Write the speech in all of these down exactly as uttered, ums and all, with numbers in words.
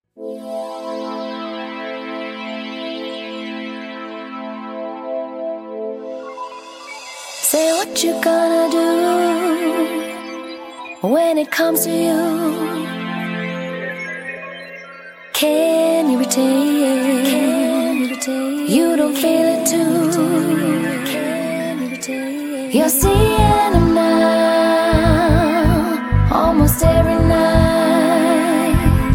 Say what you gonna do when it comes to you. Can you retain? Can you retain? You don't feel it too. Can you retain? You're seeing him now, almost every night,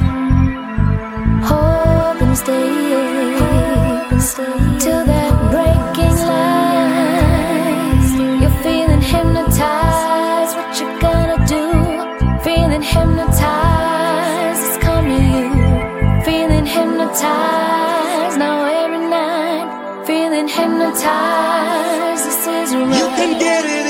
hoping to stay, hoping to stay till that breaking light. You're feeling hypnotized. What you gonna do? Feeling hypnotized. It's coming to you. Feeling hypnotized now every night. Feeling hypnotized. This is right. You can get it.